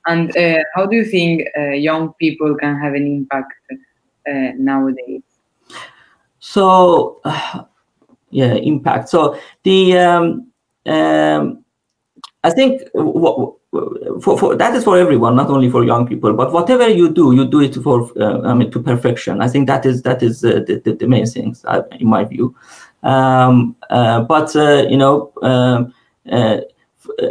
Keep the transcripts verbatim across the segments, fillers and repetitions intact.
And uh, how do you think uh, young people can have an impact uh, nowadays? So, uh, yeah, impact. So the um, um, I think w- w- for, for that is for everyone, not only for young people. But whatever you do, you do it for uh, I mean to perfection. I think that is that is uh, the, the the main things uh, in my view. Um, uh, but uh, you know, um, uh, uh,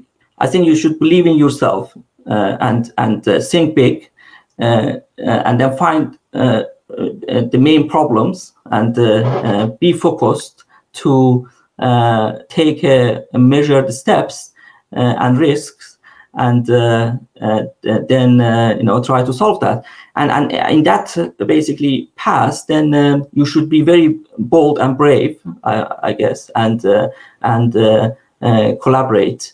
I think you should believe in yourself uh, and and uh, think big, uh, uh, and then find uh, uh, the main problems and uh, uh, be focused to uh, take uh, measured steps uh, and risks, and uh, uh, then uh, you know try to solve that. And and in that uh, basically path, then uh, you should be very bold and brave, I, I guess, and uh, and uh, uh, collaborate.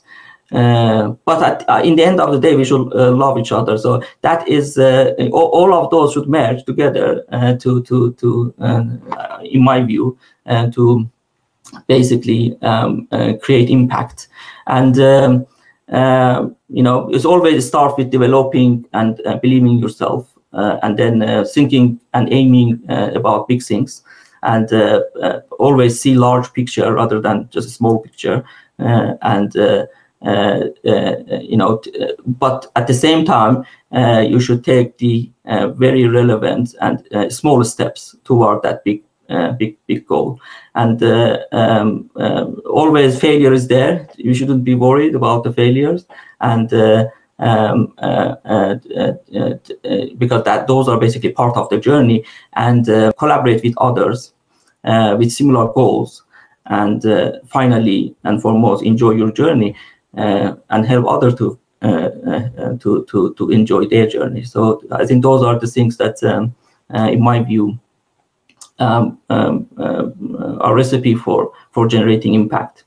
Uh, but at, uh, in the end of the day, we should uh, love each other. So that is uh, all, all of those should merge together uh, to to to, uh, in my view, uh, to basically um, uh, create impact. And um, uh, you know, it's always start with developing and uh, believing yourself, uh, and then uh, thinking and aiming uh, about big things, and uh, uh, always see large picture rather than just a small picture, uh, and. Uh, uh, uh, you know, t- uh, but at the same time, uh, you should take the uh, very relevant and uh, small steps toward that big, uh, big, big goal. And uh, um, um, always failure is there. You shouldn't be worried about the failures, and uh, um, uh, uh, uh, uh, because that those are basically part of the journey. And uh, collaborate with others uh, with similar goals, and uh, finally and foremost, enjoy your journey. Uh, and help others to, uh, uh, to to to enjoy their journey. So I think those are the things that, um, uh, in my view, um, um, uh, are recipe for for generating impact.